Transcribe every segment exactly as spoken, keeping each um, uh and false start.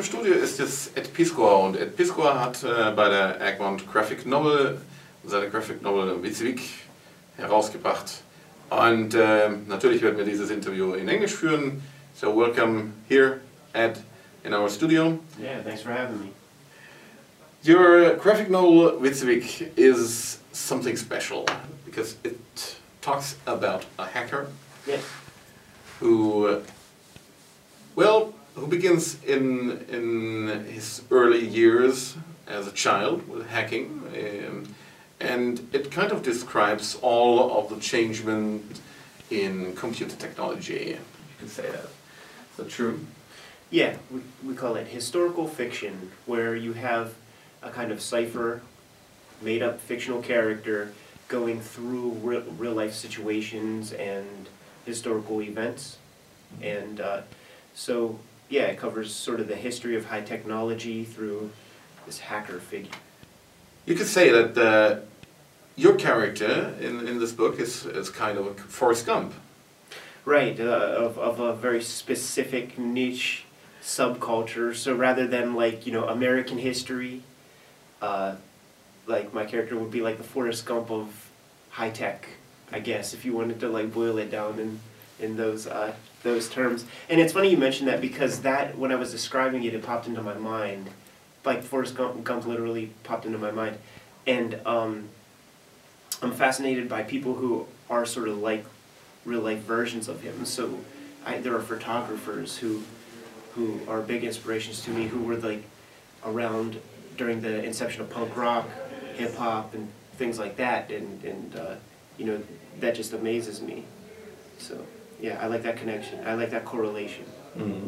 im Studio ist jetzt Ed Piskor und Ed Piskor hat äh, bei der Egmont Graphic Novel seine Graphic Novel Wyzwik herausgebracht. Und äh, natürlich werden wir dieses Interview in Englisch führen. So welcome here, Ed, in our studio. Yeah, thanks for having me. Your graphic novel Wyzwik is something special because it talks about a hacker. Yes. Who, uh, well, who begins in in his early years as a child with hacking, um, and it kind of describes all of the changement in computer technology. You could say that. Is that true? Yeah, we, we call it historical fiction, where you have a kind of cipher, made-up fictional character going through real, real-life situations and historical events. And uh, so, yeah, it covers sort of the history of high technology through this hacker figure. You could say that uh, your character in, in this book is, is kind of a Forrest Gump. Right, uh, of, of a very specific niche subculture. So rather than like, you know, American history, uh, like my character would be like the Forrest Gump of high tech, I guess, if you wanted to like boil it down in, in those uh, those terms. And it's funny you mentioned that because that, when I was describing it, it popped into my mind. Like Forrest Gump, Gump literally popped into my mind. And um, I'm fascinated by people who are sort of like real life versions of him. So I, there are photographers who who are big inspirations to me, who were like around during the inception of punk rock, hip hop, and things like that. And, and uh, you know, that just amazes me. So yeah, I like that connection. I like that correlation. Mm-hmm.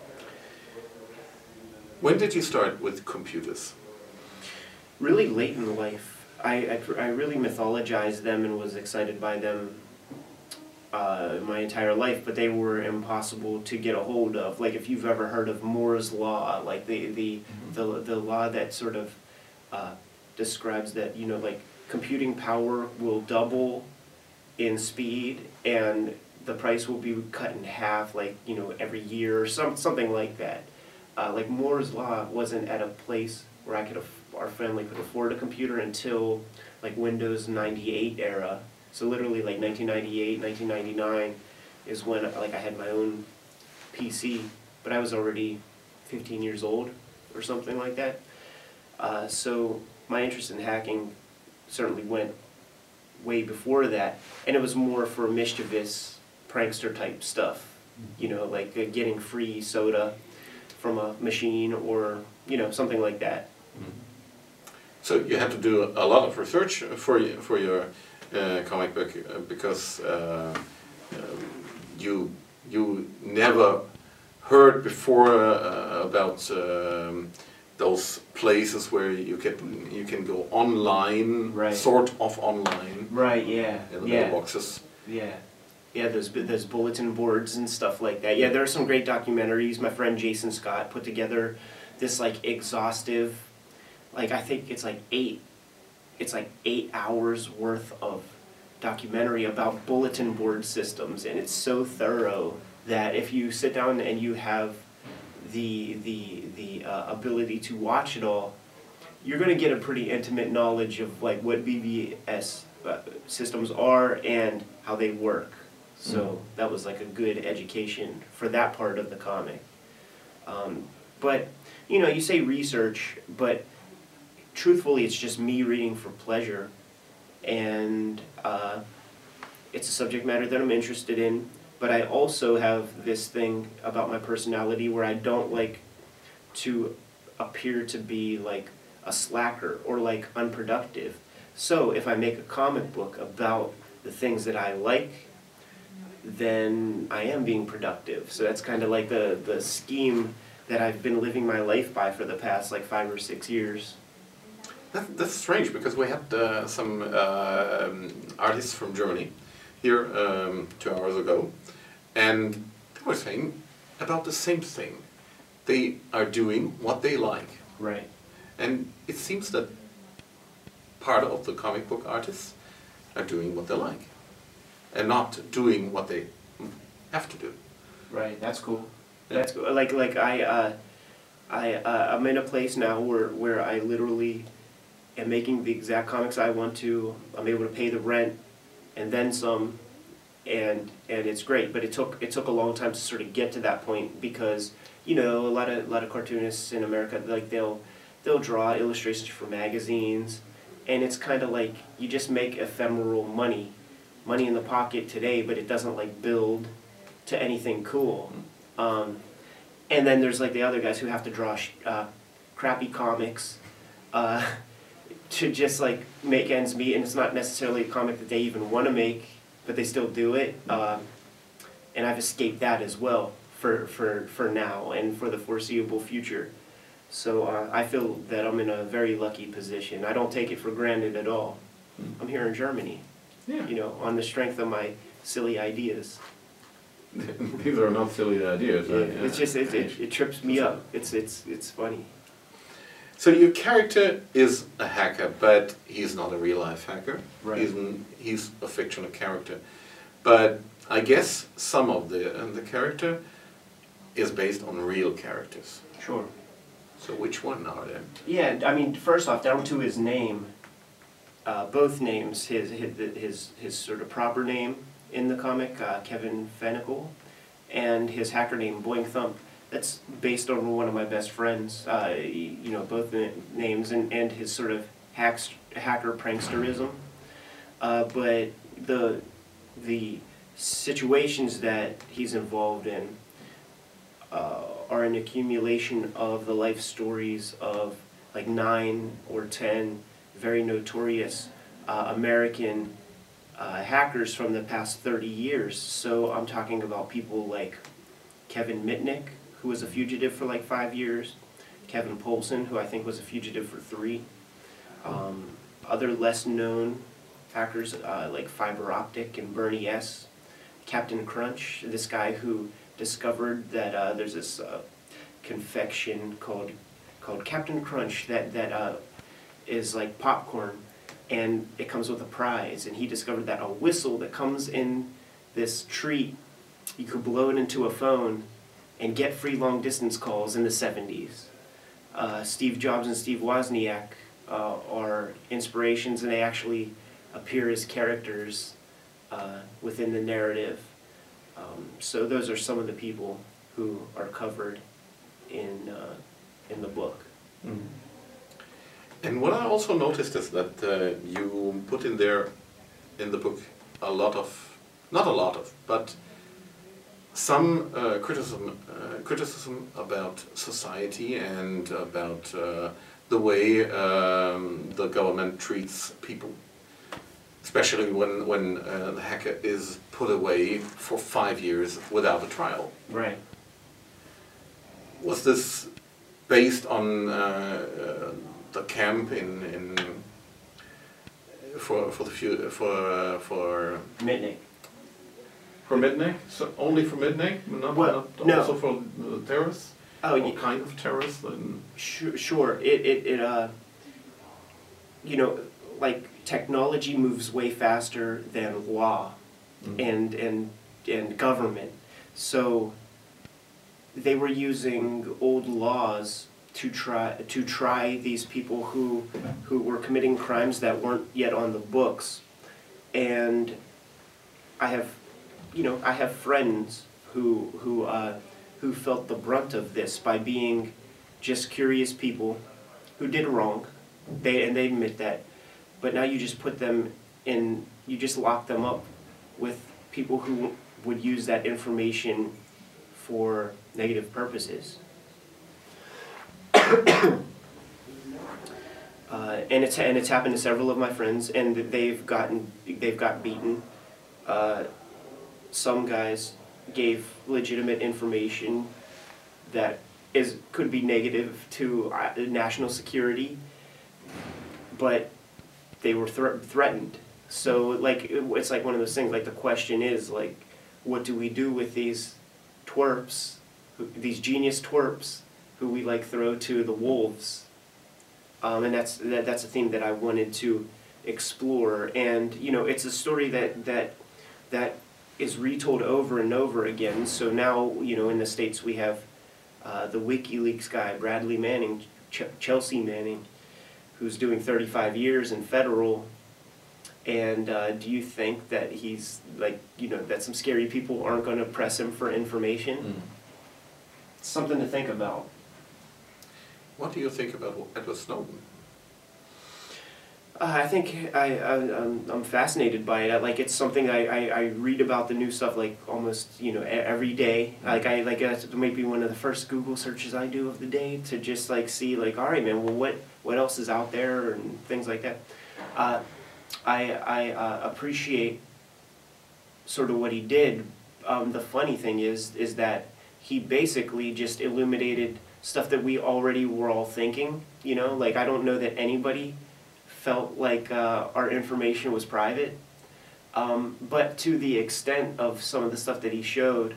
When did you start with computers? Really late in life. I, I, I really mythologized them and was excited by them uh, my entire life, but they were impossible to get a hold of. Like if you've ever heard of Moore's Law, like the, the, mm-hmm. the, the law that sort of uh, describes that, you know, like computing power will double in speed and the price will be cut in half, like, you know, every year or some, something like that. Uh, like Moore's Law wasn't at a place where I could, our family could afford a computer until like Windows ninety-eight era. So literally like nineteen ninety-eight, nineteen ninety-nine is when like I had my own P C, but I was already fifteen years old or something like that. Uh, so my interest in hacking certainly went way before that, and it was more for mischievous prankster type stuff, you know, like uh, getting free soda from a machine or, you know, something like that. Mm-hmm. So you had to do a lot of research for you, for your uh, comic book uh, because uh, um, you you never heard before uh, about um, those places where you can you can go online, right. sort of online, right? Yeah, in the yeah. mailboxes. Yeah. Yeah, there's, there's bulletin boards and stuff like that. Yeah, there are some great documentaries. My friend Jason Scott put together this like exhaustive, like I think it's like eight, it's like eight hours worth of documentary about bulletin board systems, and it's so thorough that if you sit down and you have the the the uh, ability to watch it all, you're going to get a pretty intimate knowledge of like what B B S uh, systems are and how they work. So mm. that was like a good education for that part of the comic. Um, but, you know, you say research, but truthfully it's just me reading for pleasure. And uh, it's a subject matter that I'm interested in. But I also have this thing about my personality where I don't like to appear to be like a slacker or like unproductive. So if I make a comic book about the things that I like, then I am being productive. So that's kind of like the, the scheme that I've been living my life by for the past like five or six years. That, that's strange because we had uh, some uh, artists from Germany here um, two hours ago, and they were saying about the same thing. They are doing what they like. Right. And it seems that part of the comic book artists are doing what they like and not doing what they have to do. Right, that's cool. Yeah. That's cool. Like, like I, uh, I uh, I'm in a place now where where I literally am making the exact comics I want to. I'm able to pay the rent and then some, and and it's great. But it took it took a long time to sort of get to that point because you know a lot of a lot of cartoonists in America, like they'll they'll draw illustrations for magazines, and it's kind of like you just make ephemeral money, money in the pocket today, but it doesn't like build to anything cool. Um, and then there's like the other guys who have to draw sh uh, crappy comics uh, to just like make ends meet, and it's not necessarily a comic that they even want to make, but they still do it. Um, and I've escaped that as well for, for, for now and for the foreseeable future. So uh, I feel that I'm in a very lucky position. I don't take it for granted at all. I'm here in Germany, Yeah. you know, on the strength of my silly ideas. These are not silly ideas. Yeah, right? it's just it, it, it trips me up. It's it's it's funny. So your character is a hacker, but he's not a real life hacker. Right. He's an, he's a fictional character, but I guess some of the uh, the character is based on real characters. Sure. So which one are they? Yeah, I mean, first off, down to his name, uh, both names, his his his his sort of proper name in the comic, uh, Kevin Fenikel, and his hacker name, Boing Thump. That's based on one of my best friends. Uh, you know, both the names and and his sort of hacks, hacker pranksterism. Uh, but the the situations that he's involved in uh, are an accumulation of the life stories of like nine or ten very notorious uh, American uh, hackers from the past thirty years. So I'm talking about people like Kevin Mitnick, who was a fugitive for like five years, Kevin Polson, who I think was a fugitive for three, um, other less known hackers uh, like Fiber Optic and Bernie S, Captain Crunch, this guy who discovered that uh, there's this uh, confection called called Captain Crunch that that uh, is like popcorn, and it comes with a prize. And he discovered that a whistle that comes in this treat, you could blow it into a phone and get free long distance calls in the seventies. Uh, Steve Jobs and Steve Wozniak uh, are inspirations, and they actually appear as characters uh, within the narrative. Um, so those are some of the people who are covered in uh, in the book. Mm. And what I also noticed is that uh, you put in there, in the book, a lot of, not a lot of, but some uh, criticism, uh, criticism about society and about uh, the way um, the government treats people. Especially when, when uh, the hacker is put away for five years without a trial. Right. Was this based on uh, uh, the camp in, in for for the few, for uh, for Mitnick. for Mitnick? So only for Mitnick, not, Well, not no. also for the terrorists? Oh, What yeah. kind of terrorists? And Sure, sure. It, it, it, uh, you know, like technology moves way faster than law Mhm. and, and, and government. So they were using old laws to try, to try these people who, who were committing crimes that weren't yet on the books. And I have, you know, I have friends who, who, uh, who felt the brunt of this by being just curious people who did wrong, they and they admit that, but now you just put them in, you just lock them up with people who would use that information for negative purposes. uh, and it's and it's happened to several of my friends, and they've gotten they've got beaten. Uh, some guys gave legitimate information that is could be negative to uh, national security, but they were thre threatened. So like it, it's like one of those things. Like the question is like, what do we do with these twerps, who, these genius twerps, who we like throw to the wolves? Um, and that's that, that's a theme that I wanted to explore. And you know, it's a story that that that is retold over and over again. So now, you know, in the States we have uh, the WikiLeaks guy, Bradley Manning, Ch Chelsea Manning, who's doing thirty-five years in federal. And uh, do you think that he's, like, you know, that some scary people aren't going to press him for information? Mm. Something to think about. What do you think about Edward Snowden? Uh, I think I, I, I'm, I'm fascinated by it. Like, it's something I, I, I read about the new stuff, like, almost, you know, every day. Like, I, like, it might be one of the first Google searches I do of the day to just, like, see, like, all right, man, well, what, what else is out there and things like that. Uh, I, I uh, appreciate sort of what he did. Um, the funny thing is, is that he basically just illuminated stuff that we already were all thinking. You know, like, I don't know that anybody felt like uh, our information was private. Um, but to the extent of some of the stuff that he showed,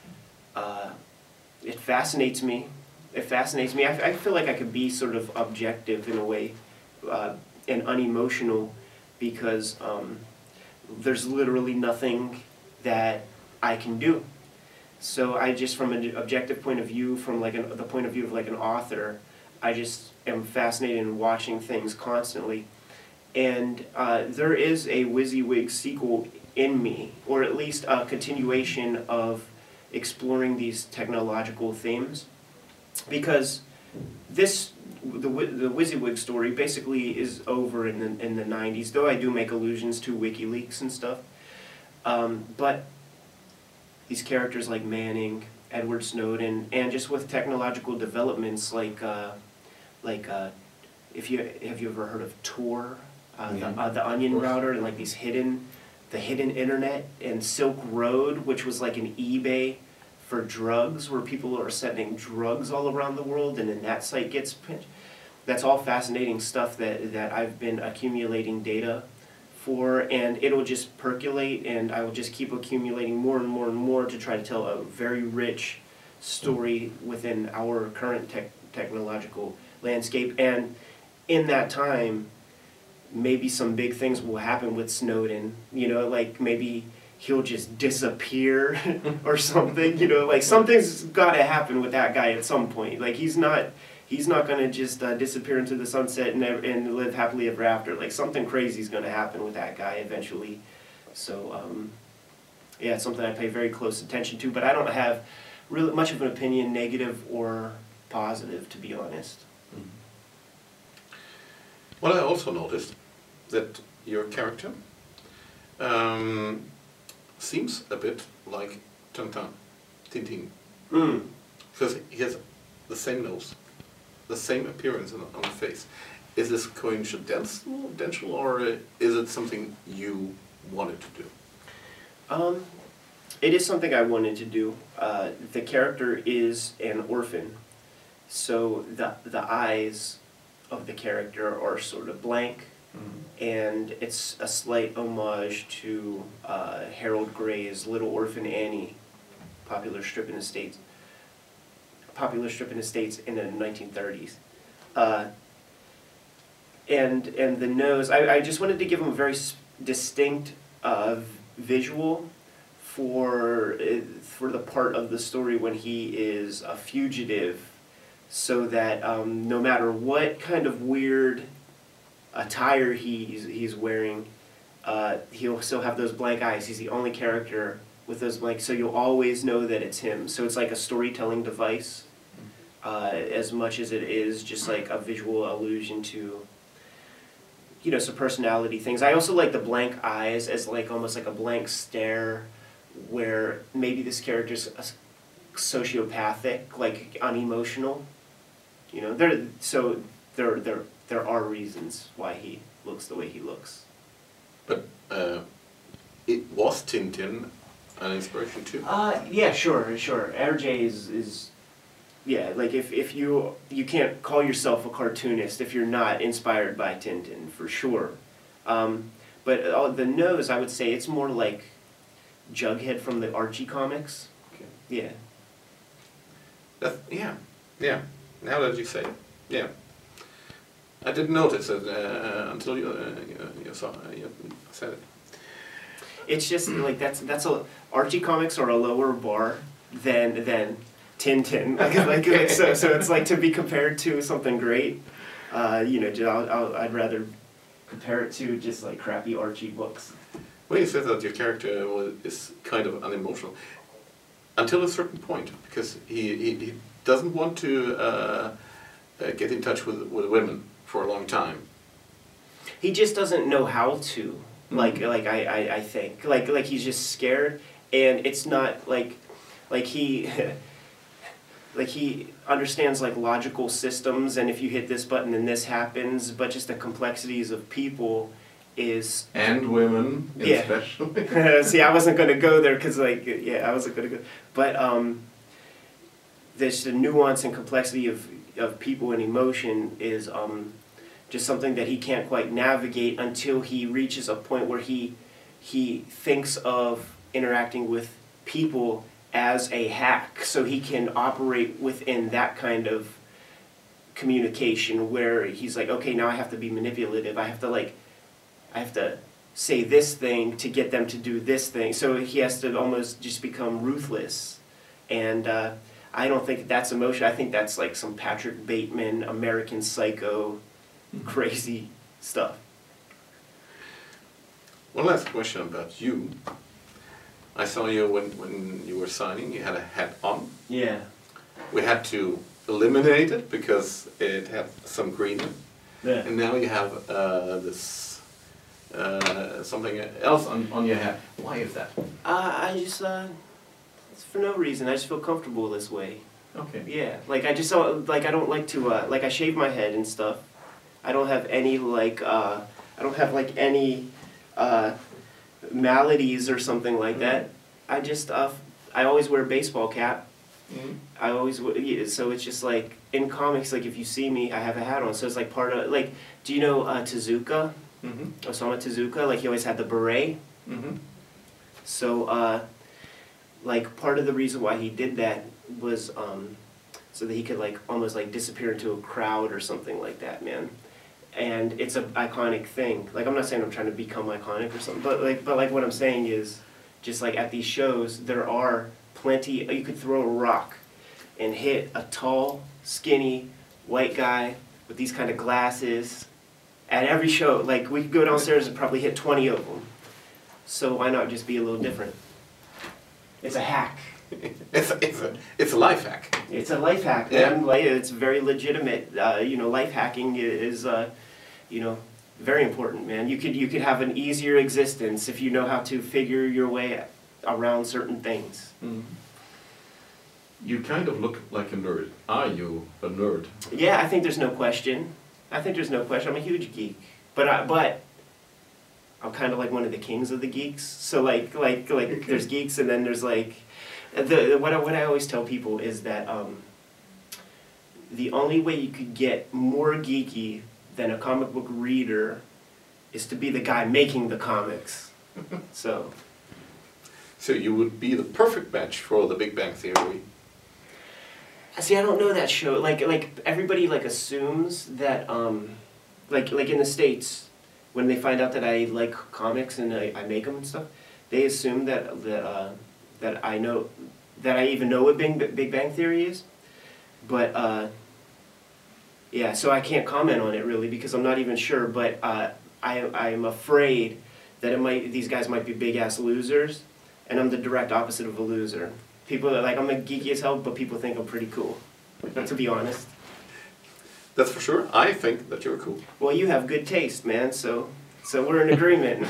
uh, it fascinates me. It fascinates me. I, I feel like I could be sort of objective in a way uh, and unemotional, because um, there's literally nothing that I can do. So I just, from an objective point of view, from like an, the point of view of like an author, I just am fascinated in watching things constantly. And uh, there is a WYSIWYG sequel in me, or at least a continuation of exploring these technological themes, because this the the WYSIWYG story basically is over in the in the nineties. Though I do make allusions to WikiLeaks and stuff, um, but these characters like Manning, Edward Snowden, and just with technological developments like uh, like uh, if you have you ever heard of Tor, uh, yeah. the, uh, the Onion router, and like these hidden the hidden internet, and Silk Road, which was like an eBay for drugs, where people are sending drugs all around the world, and then that site gets pinched. That's all fascinating stuff that, that I've been accumulating data for, and it'll just percolate, and I will just keep accumulating more and more and more to try to tell a very rich story within our current tech, technological landscape. And in that time, maybe some big things will happen with Snowden, you know, like maybe he'll just disappear or something, you know, like something's got to happen with that guy at some point. Like, he's not, he's not going to just uh, disappear into the sunset and, and live happily ever after. Like, something crazy is going to happen with that guy eventually. So, um, yeah, it's something I pay very close attention to, but I don't have really much of an opinion, negative or positive, to be honest. Mm-hmm. Well, I also noticed that your character um, seems a bit like Tintin, Tintin, mm. because he has the same nose, the same appearance on, on the face. Is this coincidental, or is it something you wanted to do? Um, it is something I wanted to do. Uh, the character is an orphan, so the the eyes of the character are sort of blank. Mm-hmm. And it's a slight homage to uh, Harold Gray's Little Orphan Annie, popular strip in the States. Popular strip in the States in the nineteen thirties. Uh, and and the nose, I, I just wanted to give him a very distinct uh, visual for uh, for the part of the story when he is a fugitive, so that um, no matter what kind of weird attire he's, he's wearing, uh, he'll still have those blank eyes. He's the only character with those blank, so you'll always know that it's him. So it's like a storytelling device, uh, as much as it is just like a visual allusion to, you know, some personality things. I also like the blank eyes as like almost like a blank stare, where maybe this character's a sociopathic, like unemotional. You know, there. So there, there. There are reasons why he looks the way he looks. But uh, it was Tintin an inspiration too? Uh, yeah, sure, sure. R J is, is yeah, like if, if you, you can't call yourself a cartoonist if you're not inspired by Tintin, for sure. Um, but uh, the nose, I would say it's more like Jughead from the Archie comics. Okay. Yeah. That's, yeah, yeah. Now that you say it, yeah. I didn't notice it uh, until you, uh, you, you saw uh, you said it. It's just like that's that's a Archie comics are a lower bar than than Tintin. Like, like, like so, so it's like to be compared to something great. Uh, you know, I'll, I'll, I'd rather compare it to just like crappy Archie books. Well, you said that your character was, is kind of unemotional until a certain point, because he, he, he doesn't want to uh, uh, get in touch with with women for a long time. He just doesn't know how to. Like mm-hmm. like I, I, I think like like he's just scared, and it's not like like he like he understands like logical systems, and if you hit this button then this happens, but just the complexities of people is and women yeah. especially. See, I wasn't gonna go there because like yeah I wasn't gonna go, but um, there's the nuance and complexity of of people and emotion is um. just something that he can't quite navigate until he reaches a point where he he thinks of interacting with people as a hack, so he can operate within that kind of communication where he's like, okay, now I have to be manipulative. I have to like, I have to say this thing to get them to do this thing. So he has to almost just become ruthless, and uh, I don't think that's emotion. I think that's like some Patrick Bateman, American Psycho. Crazy stuff. One last question about you. I saw you when, when you were signing, you had a hat on. Yeah. We had to eliminate it because it had some green in it. Yeah. And now you have uh, this uh, something else on, on your hat. Why is that? Uh, I just, uh, it's for no reason. I just feel comfortable this way. Okay. Yeah. Like I just don't, like I don't like to, uh, like I shave my head and stuff. I don't have any like uh, I don't have like any uh, maladies or something like mm-hmm. that. I just uh, I always wear a baseball cap. Mm-hmm. I always yeah, so it's just like in comics, like if you see me, I have a hat on, so it's like part of like. Do you know uh, Tezuka? Mm-hmm. Osamu Tezuka, like he always had the beret. Mm-hmm. So uh, like part of the reason why he did that was um, so that he could like almost like disappear into a crowd or something like that, man. And it's an iconic thing. Like I'm not saying I'm trying to become iconic or something, but like but like what I'm saying is, just like at these shows, there are plenty. You could throw a rock, and hit a tall, skinny, white guy with these kind of glasses, at every show. Like we could go downstairs and probably hit twenty of them. So why not just be a little different? It's a hack. It's a, it's a it's a life hack. It's a life hack, man. Yeah. It's very legitimate. Uh, you know, life hacking is, uh, you know, very important, man. You could you could have an easier existence if you know how to figure your way around certain things. Mm. You kind of look like a nerd. Are you a nerd? Yeah, I think there's no question. I think there's no question. I'm a huge geek, but I, but I'm kind of like one of the kings of the geeks. So like like like there's geeks, and then there's like. The, what, I, what I always tell people is that um, the only way you could get more geeky than a comic book reader is to be the guy making the comics. So. So you would be the perfect match for the Big Bang Theory. See, I don't know that show. Like, like everybody like assumes that, um, like, like in the States, when they find out that I like comics and I, I make them and stuff, they assume that that. Uh, that I know, that I even know what Big, Big Bang Theory is, but uh, yeah, so I can't comment on it really because I'm not even sure, but uh, I, I'm afraid that it might, these guys might be big ass losers, and I'm the direct opposite of a loser. People are like, I'm a geeky as hell, but people think I'm pretty cool, to be honest. That's for sure. I think that you're cool. Well, you have good taste, man, so, so we're in agreement.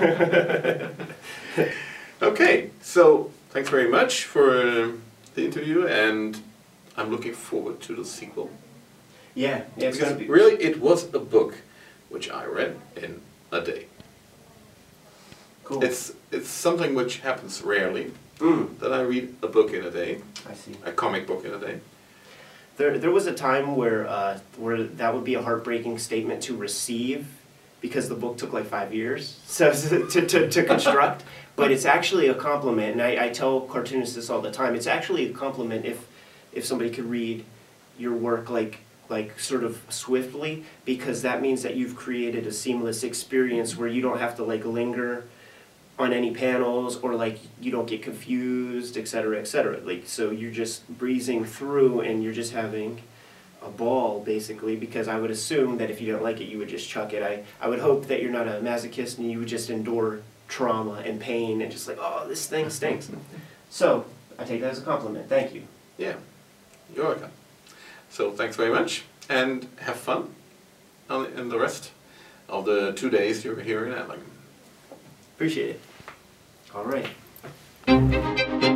Okay, so thanks very much for uh, the interview, and I'm looking forward to the sequel. Yeah, yeah, it's because gonna be... really it was a book which I read in a day. Cool. It's it's something which happens rarely, mm. that I read a book in a day. I see. A comic book in a day. There there was a time where uh, where that would be a heartbreaking statement to receive, because the book took like five years so to, to, to construct. But it's actually a compliment, and I, I tell cartoonists this all the time. It's actually a compliment if if somebody could read your work like like sort of swiftly, because that means that you've created a seamless experience where you don't have to like linger on any panels, or like you don't get confused, et cetera, et cetera. Like, so you're just breezing through and you're just having a ball, basically, because I would assume that if you don't like it, you would just chuck it. I, I would hope that you're not a masochist and you would just endure trauma and pain and just like, oh, this thing stinks. So, I take that as a compliment. Thank you. Yeah, you're welcome. So, thanks very much, and have fun on, in the rest of the two days you're here in Erlangen. Appreciate it. All right.